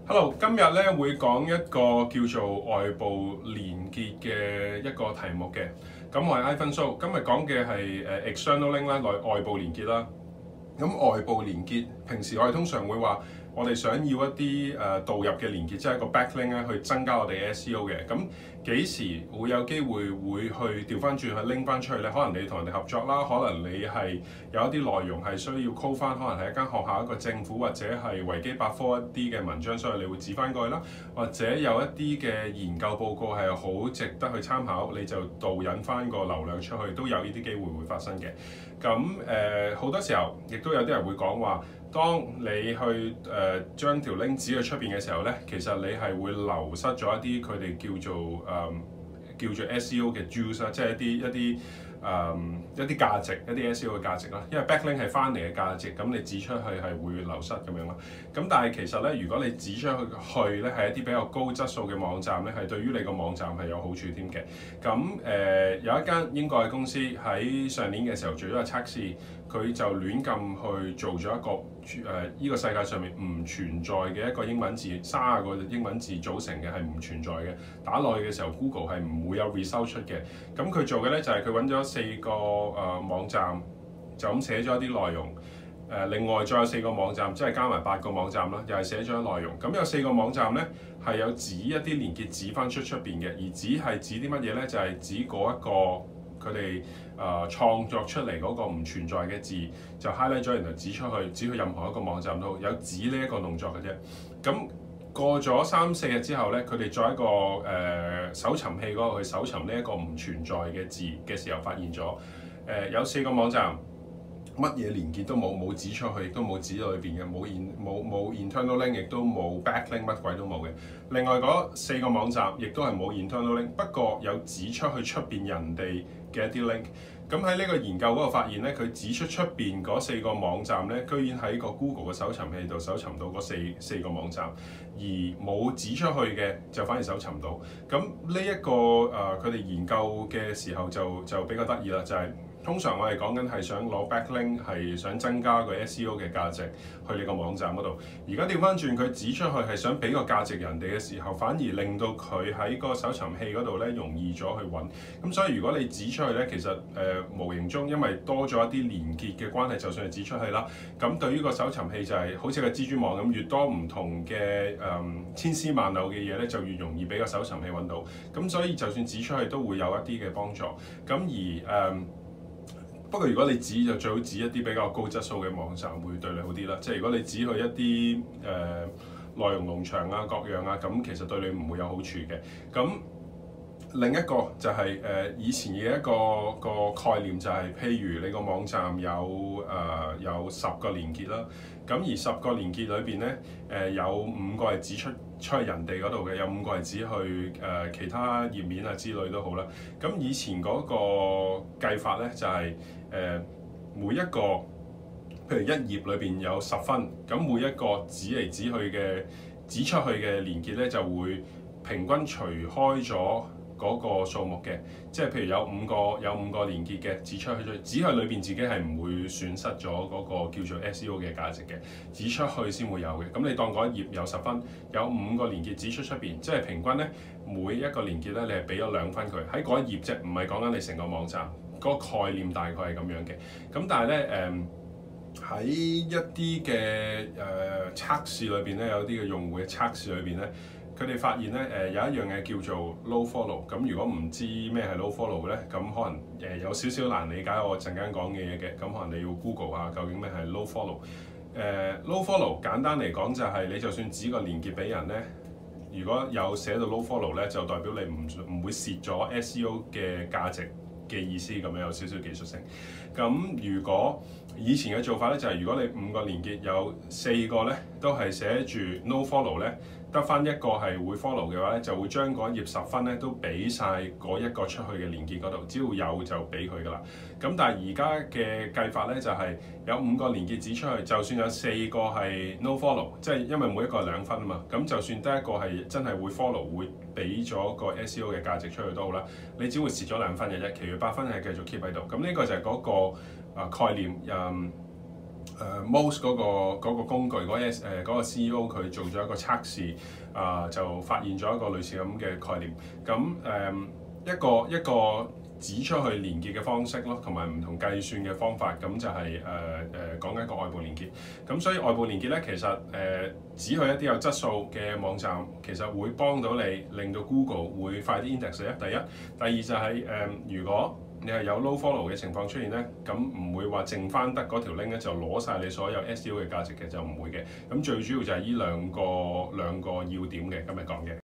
Hello，今日咧會講一個叫做外部連結嘅一個題目嘅。咁我係 Ivan So，今日講嘅係external link 啦，外部連結啦。咁外部連結，平時我哋通常會話，我哋想要一啲導入嘅連結，即係一個 backlink 咧，去增加我哋 SEO 嘅。咁幾時會有機會去調翻轉去拎翻出去咧？可能你同人哋合作啦，可能你係有一啲內容係需要 call 翻，可能係一間學校、一個政府或者係維基百科一啲嘅文章，所以你會指翻過去啦。或者有一啲嘅研究報告係好值得去參考，你就導引翻個流量出去，都有呢啲機會會發生嘅。咁好多時候，亦都有啲人會講話，當你去將條 link 指去出邊嘅時候咧，其實你係會流失咗一啲佢哋叫做 SEO 嘅 juice 啦，即係一啲價值，一啲 SEO 嘅價值啦。因為 backlink 係翻嚟嘅價值，咁你指出去係會流失咁樣啦。咁但係其實咧，如果你指出去咧係一啲比較高質素嘅網站咧，係對於你個網站係有好處添嘅。咁有一間英國嘅公司喺上年嘅時候做咗個測試，佢就亂咁去做咗一個呢個世界上面唔存在嘅一個英文字，30個英文字組成嘅係唔存在嘅。打落去嘅時候 ，Google 係唔會有 result 出嘅。咁佢做嘅咧就係佢揾咗4個網站，就咁寫咗一啲內容。另外再有4個網站，即係加埋8個網站啦，又係寫咗內容。咁有4個網站咧係有指一啲連結指翻出邊嘅，而指係指啲乜嘢咧？就係指嗰一個佢哋創作出嚟嗰個唔存在嘅字，就 highlight 咗，然後指出去，指去任何一個網站都有指呢一個動作嘅啫。咁過咗3-4日之後咧，佢哋再一個搜尋器嗰度去搜尋呢一個唔存在嘅字嘅時候，發現咗有4個網站乜嘢連結都冇指出去，亦都冇指到裏邊嘅，冇 internal link，亦都冇 backlink， 乜鬼都冇嘅。另外嗰4個網站亦都係冇 internal link， 不過有指出去出邊人哋嘅一啲 link。咁喺呢個研究嗰度發現咧，佢指出邊嗰4個網站咧，居然喺個 Google 嘅搜尋器度搜尋到嗰四個網站，而冇指出去嘅就反而搜尋唔到。咁呢一個佢哋研究嘅時候就比較得意啦，就係通常我哋講緊係想攞 backlink， 係想增加個 SEO 嘅價值去你個網站嗰度。而家調翻轉，佢指出去係想俾個價值人哋嘅時候，反而令到佢喺個搜尋器嗰度咧容易咗去揾。咁所以如果你指出去咧，其實無形中因為多咗一啲連結嘅關係，就算係指出去啦，咁對於個搜尋器就係好似個蜘蛛網咁，越多唔同嘅千絲萬縷嘅嘢咧，就越容易俾個搜尋器揾到。咁所以就算指出去都會有一啲嘅幫助。咁而不過如果你指就最好指一啲比較高質素嘅網站會對你好啲啦。即係如果你指去一啲內容農場啊各樣啊，咁其實對你唔會有好處嘅。咁另一個就係以前嘅一個概念就係，譬如你個網站有10個連結啦，咁而10個連結裏邊咧有5個係指出去人哋嗰度嘅，有5個係指去其他頁面啊之類都好啦。咁以前嗰個計法咧就係每一個譬如一頁裏邊有10分，咁每一個指出去嘅連結咧就會平均除開咗嗰個數目嘅，即係譬如有5個連結嘅指出去，指去裏邊自己係唔會損失咗嗰個叫做 SEO 嘅價值嘅，指出去先會有嘅。咁你當嗰一頁有10分，有5個連結指出邊，即係平均咧每一個連結咧你係俾咗2分佢喺嗰一頁啫，唔係講緊你成個網站。嗰個概念大概係咁樣嘅。咁但係咧喺一啲嘅測試裏邊咧，有啲嘅用戶嘅測試裏邊咧，佢哋發現咧有一樣嘢叫做 low follow。咁如果唔知咩係 low follow 咧，咁可能有少少難理解我陣間講嘅嘢嘅。咁可能你要 Google 下究竟咩係 low follow。low follow 簡單嚟講就係你就算指個連結俾人咧，如果有寫到 low follow 咧，就代表你唔會蝕咗 SEO 嘅價值嘅意思，咁樣有少少技術性。咁如果以前嘅做法咧，就係如果你5個連結有4個咧都係寫住 no follow 咧，得翻1個係會 follow 嘅話咧，就會將嗰頁10分咧都俾晒嗰一個出去嘅連結嗰度，只要有就俾佢噶啦。咁但係而家嘅計法咧就係有5個連結指出去，就算有4個係 no follow， 即係因為每一個係2分啊嘛，咁就算得一個係真係會 follow 會俾咗個 SEO 嘅價值出去都好啦，你只會蝕咗2分嘅啫，其餘8分係繼續 keep 喺度。咁呢個就係嗰個概念。 Moz 嗰個工具嗰個 CEO 佢做咗一個測試，就發現咗一個類似咁嘅概念。咁一個指出去連結嘅方式咯，同埋唔同計算嘅方法，咁就係講緊一個外部連結。咁所以外部連結咧，其實指去一啲有質素嘅網站，其實會幫到你，令到 Google 會快啲 index 你。第一，第二就係如果你係有 low follow 嘅情況出現咧，咁唔會話剩翻得嗰條 link 咧就攞晒你所有 SEO 嘅價值嘅，就唔會嘅。咁最主要就係呢兩個要點嘅今日講嘅。